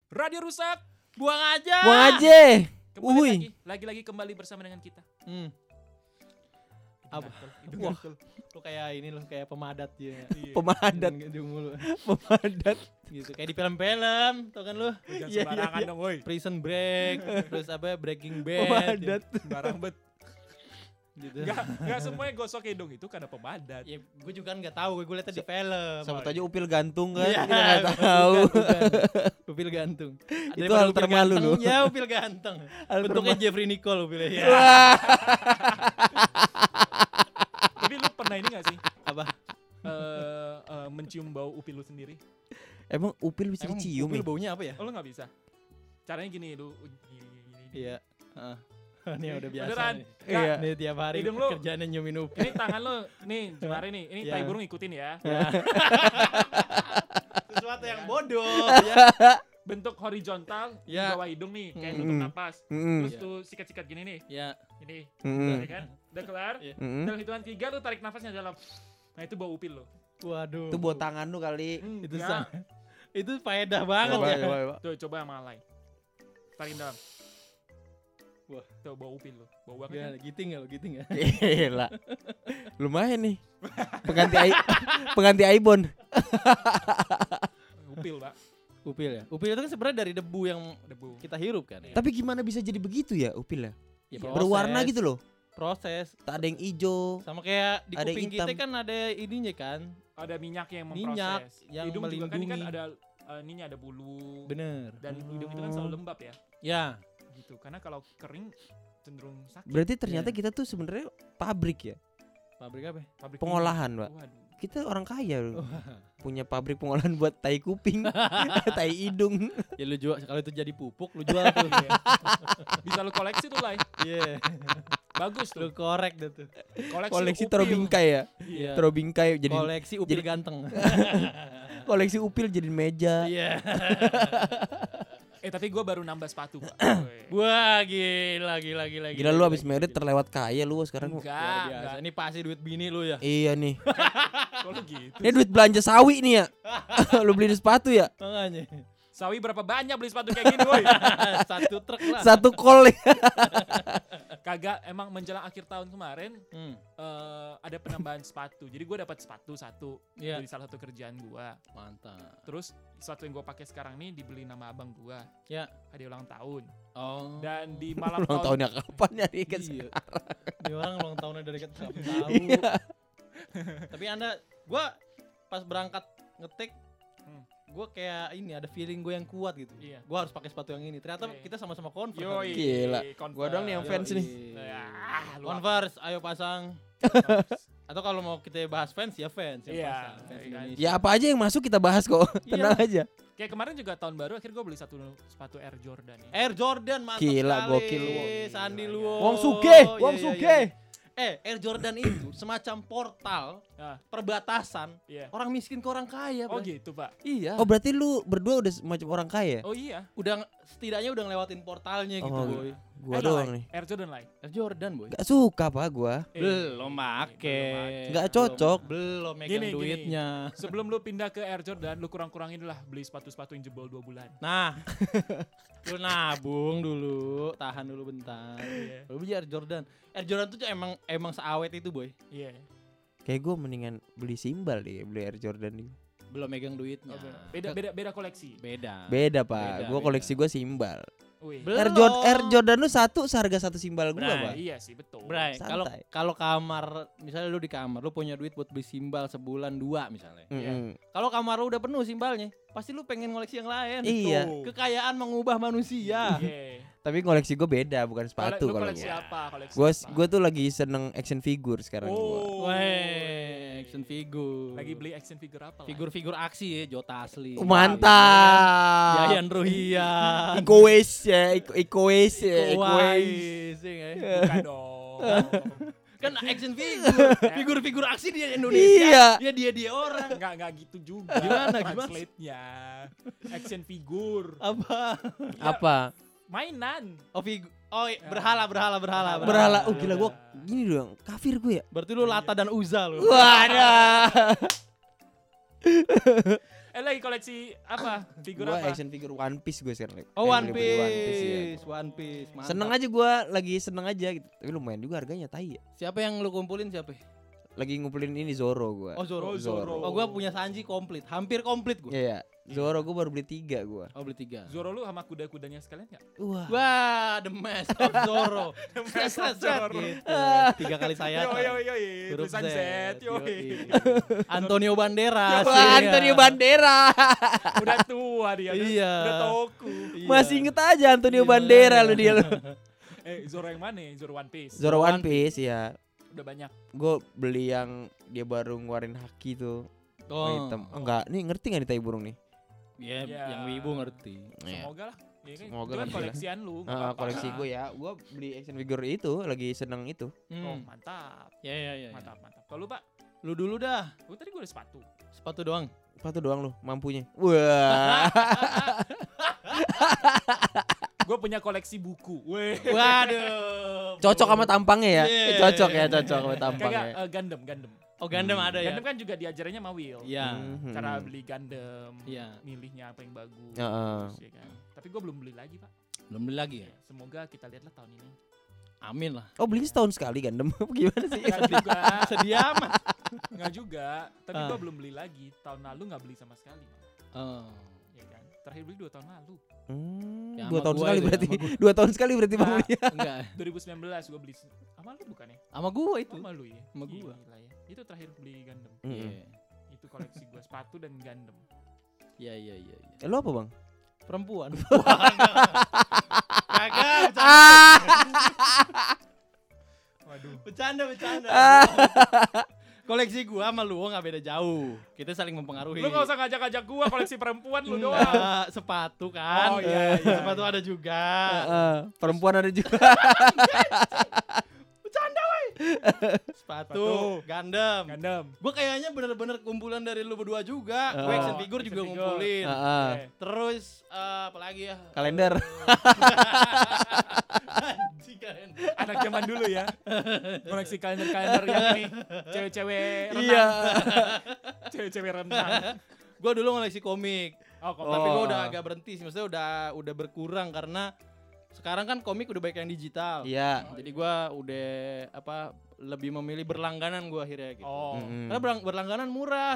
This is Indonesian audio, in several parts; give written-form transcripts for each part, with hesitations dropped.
Radio rusak. Buang aja. Buang aja. Kembali lagi kembali bersama dengan kita. Apa? Wah, lu kayak ini lu kayak pemadat ya. Pemadat. Mulu. Pemadat. Gitu kayak di film-film, tau kan lu? Jangan Iya, sembarangan dong, woi. Prison Break, terus apa Breaking Bad. Pemadat. Sembarang bet. Gitu. Enggak semuanya gosok hidung itu karena pemadat. Ya, gue juga kan nggak tahu, gue liatnya di film. Sama aja upil gantung kan. Iya, Kita enggak tahu. bukan. Upil gantung. Itu Daripada hal upil termalu ganteng, lu. Ya, upil ganteng. Hal Bentuknya Jeffrey Nicole upilnya. Ya. Wah. Tapi lu pernah ini enggak sih? Apa? Mencium bau upil lu sendiri? Emang upil bisa Emang dicium upil ya? baunya apa ya? Oh, lu enggak bisa. Caranya gini, lu gini. Iya. Heeh. Ini udah biasa. Beneran? Nih. Iya. Nih tiap hari Hidung lu- kerjaannya nyumin upil. Ini tangan lu, nih jemari nih. Ini Ya. tai burung ikutin ya. Sesuatu yang bodoh ya. Bentuk horizontal di Ya. bawah hidung nih, kayak Mm-mm. tutup napas. Mm-mm. Terus Iya. tuh sikat-sikat gini nih. Ya. Ini, Mm-mm. ya kan? Udah kelar. Iya. Mm-mm. Dalam hitungan 3 lu tarik nafasnya dalam. Nah, itu bau upil lo. Waduh. Itu buat tangan lu kali. Itu Ya. itu faedah banget Coba, ya. coba. Tuh, coba sama alay. Tarik dalam. Wah. Tuh bau upil lo. Bau banget. Gila, Kan? giting ya lo, giting ya. Gila. Lumayan nih. Pengganti Aibon. Upil, Pak. Upil ya. Upil itu kan sebenarnya dari debu yang Debu. kita hirup kan ya. Tapi gimana bisa jadi begitu ya upil ya? Ya, Berwarna gitu loh. Proses. Tak ada yang hijau. Sama kayak di Ada yang kuping kita hitam. kan ada ininya kan. Ada minyaknya yang Minyak memproses. yang Hidung juga kan, ini kan melindungi. ada ininya ada bulu. Bener. Dan hidung itu kan selalu lembab ya. Ya. Gitu. Karena kalau kering cenderung sakit. Berarti ternyata Iya. kita tuh sebenarnya pabrik ya. Pabrik apa? Pabrik Pengolahan, minyak. Pak. Waduh. Kita orang kaya loh. Punya pabrik pengolahan buat tai kuping, tai hidung. Ya lu jual kalau itu jadi pupuk lu jual tuh. Iya. Bisa lu koleksi tuh, Lai. Iya. Bagus Lu tuh. korek deh tuh. Koleksi upil. terobingkai ya. Iya. Terobingkai jadi Koleksi upil jadi- ganteng. koleksi upil jadi meja. Iya. Tapi gue baru nambah sepatu, Pak. Wah, gila. Gila lu abis merit terlewat kaya lu sekarang. Luar Enggak, biasa. enggak. Ini pasti duit bini lu ya. Iya nih. Kalau gitu. Ini duit belanja sawi nih ya. Lu beli sepatu ya? Makanya. Sawi berapa banyak beli sepatu kayak gini, woi? Satu truk lah. Satu kol ya. Kagak, emang menjelang akhir tahun kemarin Hmm. ada penambahan sepatu. Jadi gue dapat sepatu satu Iya. dari salah satu kerjaan gue. Mantap. Terus sepatu yang gue pakai sekarang nih dibeli nama abang gue. Ya. Hadiah ulang tahun. Oh. Dan di malam Ulang tahunnya kapan ya nih kan? Iya. Ini orang ulang tahunnya dari kita nggak tahu. Iya. Tapi gua pas berangkat ngetik, Hmm. gua kayak ini ada feeling gue yang kuat gitu. Iya. Gua harus pakai sepatu yang ini. Ternyata Iya. kita sama-sama Converse. Yoi. Gila. Converse. Gua doang nih yang fans nih. Ya, lu Converse, ayo pasang. Converse. Atau kalau mau kita bahas fans ya fans yang Iya, pasang. Fans iya. Indonesia. Ya apa aja yang masuk kita bahas kok. Tenang aja. Kayak kemarin juga tahun baru akhirnya gue beli satu sepatu Air Jordan ya. Air Jordan mantap Gila, sekali. gokil lu. Sandi Gila, lu. gila. Wong sugih, Iya, wong iya, sugih. iya. Air Jordan itu semacam portal Ah, perbatasan iya. orang miskin ke orang kaya. Oh Bray. gitu, Pak. Iya. Oh berarti lu berdua udah macam orang kaya? Oh iya. Udah setidaknya udah ngelewatin portalnya gitu, Oh, boy. Gua Lah, doang nih. Air Jordan lah. Air Jordan, boy. Gak suka pak gua. Belum make. Nggak cocok. Belum megang Gini, duitnya. Sebelum lu pindah ke Air Jordan, lu kurang-kurangin lah beli sepatu-sepatu yang jebol 2 bulan. Nah, lu nabung dulu, tahan dulu bentar. Iya. Lu beli Air Jordan. Air Jordan tuh emang seawet itu, boy. Iya. Kayak gua mendingan beli simbal deh, beli Air Jordan nih. Belum megang duitnya. Beda koleksi. Beda. Beda pak, Beda, gua beda. koleksi gua simbal. Wih. Belum. Air Jordan lu satu seharga satu simbal gua Bray. pak. Iya sih, betul. Bray, kalau Santai. kalau kamar, misalnya lu di kamar, lu punya duit buat beli simbal sebulan 2 misalnya. Mm-mm. Kalau kamar lu udah penuh simbalnya, pasti lu pengen ngoleksi yang lain. Iya. Tuh. Kekayaan mengubah manusia. Iya. Tapi koleksi gua beda, bukan sepatu Lu kalau koleksi gua. apa? Koleksi Gua apa? gua tuh lagi seneng action figure sekarang gua. Oh. Weh, action figure. Lagi beli action figure apa? Lah? Figur-figur aksi ya, Jota Asli. Mantap. Yayan Ruhian. Iko Wes ya, Iko Wes ya, Iko Wes. Wais, ya nggak ya? Bukan dong. Kan action figure, figur-figur aksi di Indonesia. Iya. Ya dia orang. Enggak gitu juga. Gimana? Translate-nya? Action figure. Apa? Apa? Mainan. Berhala. Oh gila gua gini dong, kafir gue ya. Berarti lu Lata dan Uza lu. Wadah. lagi koleksi apa? Figur Gua apa? action figure One Piece gue sekarang. Oh, One Beli Piece. ya. One Piece. Mantap. Seneng aja gue, lagi seneng aja gitu. Tapi lumayan juga harganya, tai ya. Siapa yang lu kumpulin siapa? Lagi ngumpulin ini Zoro gue. Oh, Zoro. Oh, Zoro. Oh, gua punya Sanji komplit. Hampir komplit gua. Iya, Zoro gue baru beli 3 gue. Oh, beli 3. Zoro lu sama kuda-kudanya sekalian enggak? Wah. Wah, the mask of Zoro. The mask of Zoro. Gitu. 3 kali saya. Yo, Huruf tulisan Z. Yo. Antonio Banderas. Wah, iya. Antonio Banderas. Udah tua dia. Iya. Udah toku. Iya. Masih inget aja Antonio Iya. Banderas lu dia lu. Zoro yang mana? Zoro One Piece. Zoro One Piece ya. Udah banyak. Gue beli yang dia baru ngeluarin haki tuh. Oh. Hitam. Enggak, nih ngerti enggak nih tai burung nih? Iya, Ya. yang wibu ngerti. Iya. Semoga lah. Ya kan? Semoga Itu kan lah. koleksian lu. nggak apa-apa. Koleksi gue ya. Gue beli action figure itu lagi seneng itu. Oh, mantap. Ya. Mantap. Kalau lu, Pak? Lu dulu dah. Lu tadi gue ada sepatu. Sepatu doang. Sepatu doang lu mampunya. Wah. Gue punya koleksi buku. Weh. Waduh. Cocok sama tampangnya ya. Iya. Cocok sama Kagak tampangnya. Gundam. Oh, Gundam ada ya. Gundam kan juga diajarannya sama Will. Iya. Mhm. Cara beli Gundam. Iya. Milihnya apa yang bagus. Heeh. Ya kan? Tapi gue belum beli lagi, Pak. Belum beli lagi ya. Semoga kita lihatlah tahun ini. Amin lah. Oh, beli setahun sekali Gundam. Gimana sih? Enggak juga. Sedih amat. Enggak juga. Tapi Ah. gue belum beli lagi. Tahun lalu nggak beli sama sekali. Oh. Ya kan? Terakhir beli 2 tahun lalu. Ya, 2 sama tahun gua sekali itu ya, berarti. sama gua. 2 tahun sekali berarti Bang Nah, beli. Enggak. 2019 gue beli. Sama lu bukan ya? Sama gua itu. Sama lu ya? Sama gua. Gila ya. Itu terakhir beli Gundam. Iya. Itu koleksi gue sepatu dan Gundam. Iya. Lu apa, Bang? Perempuan. Kagak, Waduh. bercanda. Koleksi gua sama lu nggak beda jauh. Kita saling mempengaruhi. Lu gak usah ngajak-ngajak gue koleksi perempuan lu doang. Enggak, sepatu kan. Oh, iya. Sepatu ada juga. Perempuan ada juga. Sepatu, Gundam. Gundam. Gua kayaknya bener-bener kumpulan dari lu berdua juga. Gua action figure juga action figure. ngumpulin. Oke. Terus apa lagi ya? Kalender. Anjing kalender. Anak zaman dulu ya. Koleksi kalender-kalender yang ini cewek-cewek renang. Iya. Cewek-cewek renang. Gua dulu ngoleksi komik. Oh, kok Tapi gua Oh. udah agak berhenti sih. Maksudnya udah berkurang karena sekarang kan komik udah banyak yang digital. Iya. Jadi gua udah lebih memilih berlangganan gua akhirnya gitu. Oh. Mm-mm. Karena berlangganan murah,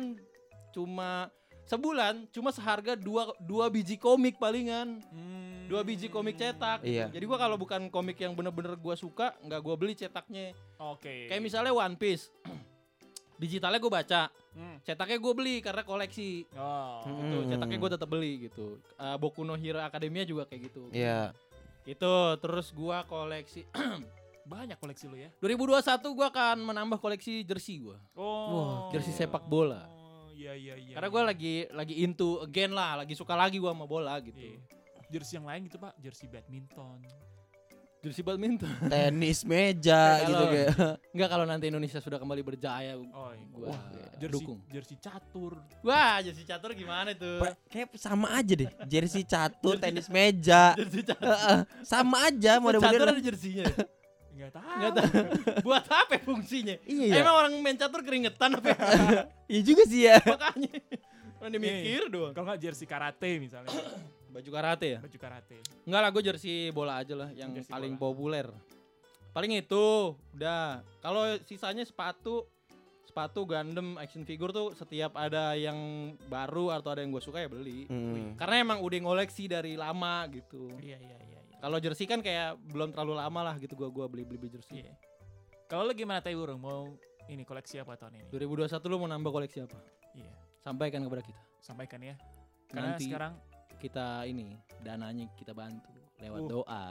sebulan cuma seharga dua biji komik palingan. 2 biji komik cetak. Iya. Jadi gua kalau bukan komik yang bener-bener gua suka, nggak gua beli cetaknya. Oke. Kayak misalnya One Piece. Digitalnya gua baca, Hmm. cetaknya gua beli karena koleksi. Oh. Gitu, cetaknya gua tetap beli gitu. Boku no Hero Academia juga kayak gitu. Iya. Gitu, terus gua koleksi Banyak koleksi lu ya. 2021 gua akan menambah koleksi jersey gua. Oh. jersey sepak bola. Iya. Karena gua lagi into again lah, lagi suka lagi gua sama bola gitu. Iya. Jersey yang lain gitu, Pak. Jersey badminton. Jersey badminton. Tenis meja Kayak gitu kalau- kayak. Enggak, kalau nanti Indonesia sudah kembali berjaya, Oh, iya. gua Jersey, dukung. jersey catur. Wah, jersey catur gimana tuh? Kayak sama aja deh. Jersey catur, tenis meja. Jersey catur. Sama aja Catur model-model. ada jerseynya. Enggak tahu. Enggak tahu. Buat apa fungsinya? Iya ya. Emang orang main catur keringetan apa? Iya juga sih ya. Makanya. Orang mikir doang. Kalau enggak jersey karate misalnya. Baju karate ya? Baju karate. Enggak lah, gue jersey bola aja lah yang Jersey paling bola. populer. Paling itu, udah. Kalau sisanya sepatu Gundam, action figure tuh setiap ada yang baru atau ada yang gue suka ya beli. Karena emang udah ngoleksi dari lama gitu. Iya. Kalau jersey kan kayak belum terlalu lama lah gitu gua beli jersey. Iya. Kalau lu gimana Tai Burung? Mau ini koleksi apa tahun ini? 2021 lu mau nambah koleksi apa? Iya. Sampaikan kepada kita. Sampaikan ya. Karena Nanti sekarang kita ini dananya kita bantu lewat doa.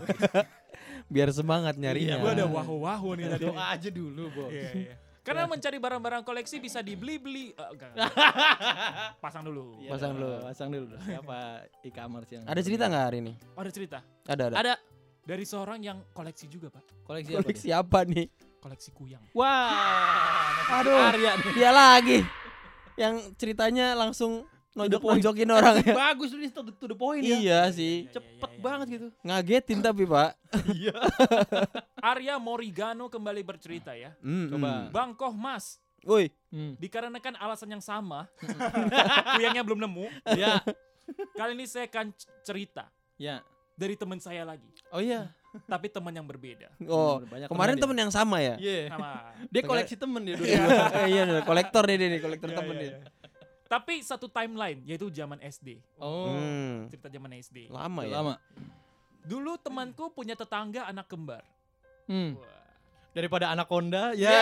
Biar semangat Iya, nyarinya. gua ada wahu-wahu nih tadi. Doa aja dulu, Bos. Iya. Karena mencari barang-barang koleksi bisa dibeli-beli. Enggak. Pasang dulu. Iya, Pasang dulu. Pasang dulu. Siapa e-commerce yang Ada cerita nggak hari ini? Oh, ada cerita Ada. Ada dari seorang yang koleksi juga, Pak. koleksi apa? Koleksi apa nih? Koleksi kuyang. Dia? Wah, Aduh. Arya nih. Dia lagi. Yang ceritanya langsung nonjokin orang ya. Bagus lu to the point ya. Iya sih. Cepet banget gitu. Ngagetin tapi Pak. Iya. Arya Morigano kembali bercerita ya. Coba. Bang Kohmas, Woi. Dikarenakan alasan yang sama, kuyangnya belum nemu. Ya. Kali ini saya akan cerita Ya. dari teman saya lagi, Oh iya. tapi teman yang berbeda. Oh, Banyak kemarin temen temen yang sama ya? Iya. Sama. Dia koleksi temen dia dulu. Iya, kolektor nih, kolektor Iya, temen iya, nih. iya. Tapi satu timeline, yaitu zaman SD. Oh. Cerita zaman SD. Lama ya? Lama. Dulu temanku punya tetangga anak kembar. Wah. Daripada Anaconda, ya.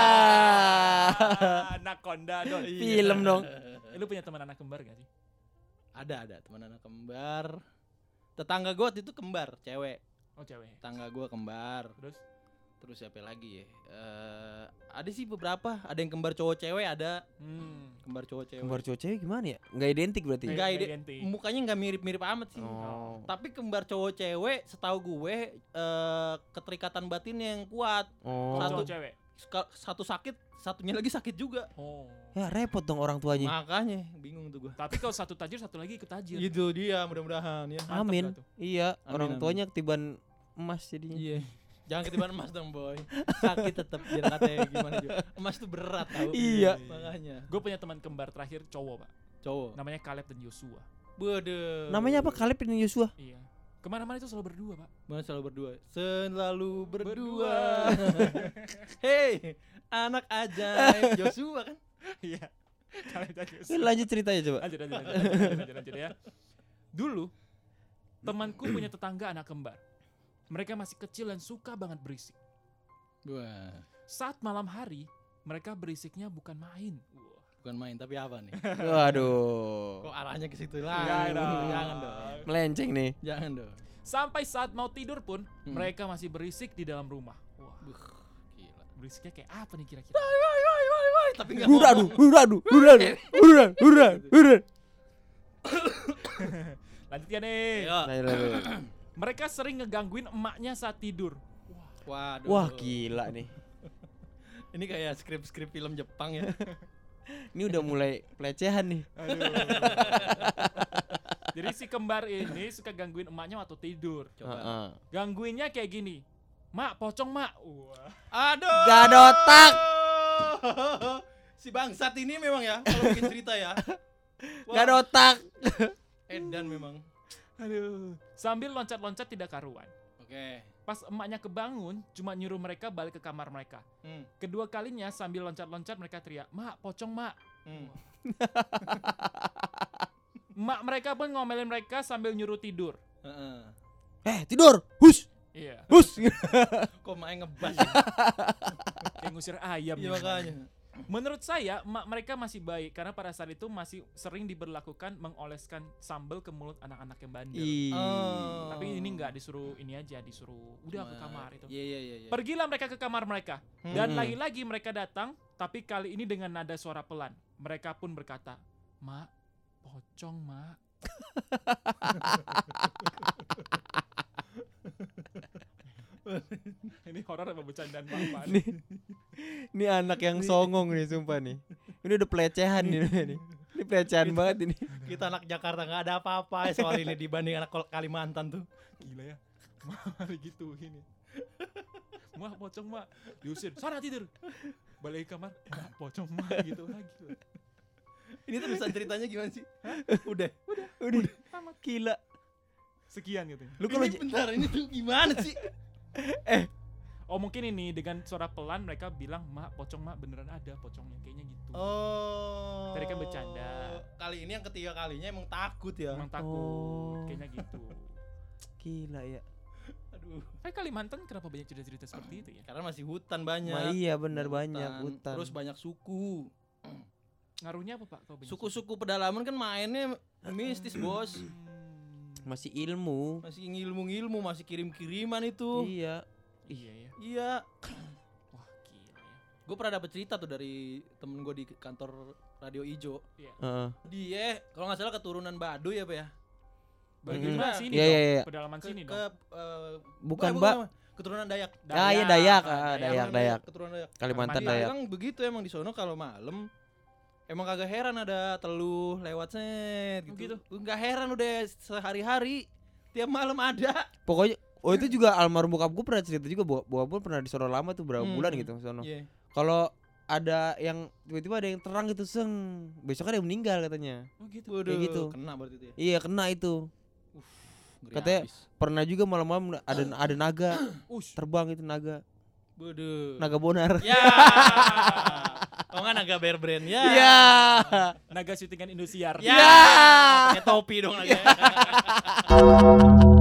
Anaconda dong. Film dong. Lu punya teman anak kembar gak sih? Ada teman anak kembar. Tetangga gue waktu itu kembar, cewek. Oh cewek. Tetangga gue kembar. Terus Siapa lagi ya? Ada sih beberapa. Ada yang kembar cowok cewek ada. Kembar cowok cewek. Kembar cowok cewek gimana ya? Nggak identik berarti? Nggak Enggak identik. mukanya nggak mirip-mirip amat sih. Oh. Tapi kembar cowok cewek setahu gue keterikatan batin yang kuat. Oh. Satu. cowok cewek. Satu sakit, satunya lagi sakit juga. Oh. Ya repot dong orang tuanya. Makanya bingung tuh gue. Tapi kalau satu tajir, satu lagi ikut tajir. Itu dia mudah-mudahan ya. Mantap Amin. gak tuh? Iya, Amin, orang amin. tuanya ketiban emas jadinya. Iya. Jangan ketiban emas dong boy. Sakit tetap biar katanya gimana juga. Emas tuh berat tau. Iya. Makanya. Gue punya teman kembar terakhir cowok, Pak. Cowok. Namanya Caleb dan Joshua. Bede. Namanya apa? Caleb dan Joshua. Iya. Kemana-mana itu selalu berdua, Pak. Mana selalu berdua. Selalu berdua. Hei, anak ajaib Joshua kan. Iya. Caleb dan Oke, Joshua. lanjut ceritanya coba. Lanjut ya. Dulu temanku punya tetangga anak kembar. Mereka masih kecil dan suka banget berisik. Wah, Saat malam hari, mereka berisiknya bukan main. Wah. bukan main tapi apa nih? Waduh. Kok arahnya ke situ Enggak lah? dong. Jangan dong. Melenceng nih. Jangan dong. Sampai saat mau tidur pun, mereka masih berisik di dalam rumah. Wah, Gila. berisiknya kayak apa nih kira-kira? Tapi enggak Udah. Lanjut ya nih. Ayo. Mereka sering ngegangguin emaknya saat tidur. Waduh. Wah, gila nih. Ini kayak skrip-skrip film Jepang ya. Ini udah mulai pelecehan nih. Aduh. Jadi si kembar ini suka gangguin emaknya waktu tidur. Coba. Gangguinnya kayak gini. Mak, pocong mak. Wah. Aduh. Gak ada otak. Si bangsat ini memang ya kalau bikin cerita ya. Gak ada otak. Edan memang. Aduh. Sambil loncat-loncat tidak karuan. Oke. Pas emaknya kebangun, cuma nyuruh mereka balik ke kamar mereka. Kedua kalinya sambil loncat-loncat mereka teriak, "Mak, pocong mak." Mak mereka pun ngomelin mereka sambil nyuruh tidur. Tidur. Hus. Iya. Hus. Kok main ngebas? Kayak ngusir ayam. Iya gitu. makanya. Menurut saya, emak mereka masih baik karena pada saat itu masih sering diberlakukan mengoleskan sambal ke mulut anak-anak yang bandel. Tapi ini enggak disuruh ini aja, disuruh udah ke kamar itu. Iya. Pergilah mereka ke kamar mereka. Dan lagi-lagi mereka datang, tapi kali ini dengan nada suara pelan. Mereka pun berkata, "Mak, pocong, Mak." Ini horor apa bercandaan Bapak? Ini anak yang songong nih sumpah nih. Ini udah pelecehan nih. Ini pelecehan banget ini. Kita anak Jakarta nggak ada apa-apa ya soal ini dibanding anak Kalimantan tuh. Gila ya. Mari gitu ini. Mak, pocong, Mak. Diusir, sana tidur. Balik ke kamar, "Mak, pocong, Mak." Gitu lagi. Ini terusan ceritanya gimana sih? Udah. Tamat. Gila. Sekian gitu. Lu kalau Ini bentar, ini tuh gimana sih? Oh mungkin ini dengan suara pelan mereka bilang, "Mak, pocong, Mak, beneran ada pocongnya." Kayaknya gitu. Oh. Tadi kan bercanda. Kali ini yang ketiga kalinya emang takut ya. Emang takut. Oh. Kayaknya gitu. gila ya. Aduh. Kalimantan kenapa banyak cerita-cerita seperti itu ya? Karena masih hutan banyak. Nah, iya benar banyak hutan. Terus banyak suku. Ngaruhnya apa, Pak? Kalau banyak Suku-suku pedalaman kan mainnya mistis, Bos. Masih ilmu. Masih ngilmu-ngilmu, masih kirim-kiriman itu. Iya. Iya ya. Iya. Wah, gila ya. Gue pernah dapet cerita tuh dari temen gue di kantor Radio Ijo. Iya. Dia kalau nggak salah keturunan Baduy apa ya? Bagian Hmm. mana sini Iya, dong? iya, iya. Pedalaman sini Ke dong. Bukan, bukan, Mbak. keturunan Dayak. Iya Dayak. Dayak. Keturunan Dayak. Kalimantan Dia Dayak. bilang begitu emang di sono kalau malam emang kagak heran ada teluh lewat set gitu. Enggak heran udah sehari-hari tiap malam ada. Pokoknya itu juga almarhum bokap gue pernah cerita juga, bokap gue pernah di sono lama tuh berapa bulan gitu sono. Iya. Kalau ada yang tiba-tiba ada yang terang gitu besok ada yang meninggal katanya. Oh gitu. Waduh, Kayak gitu. kena berarti itu ya. Iya kena itu. Ngeri Katanya abis. pernah juga malam-malam ada naga terbang itu naga. Waduh. Naga bonar. Ya. Oh enggak naga bear brand ya. Iya. Naga syutingan Indosiar. Ya. Pakai topi dong naga.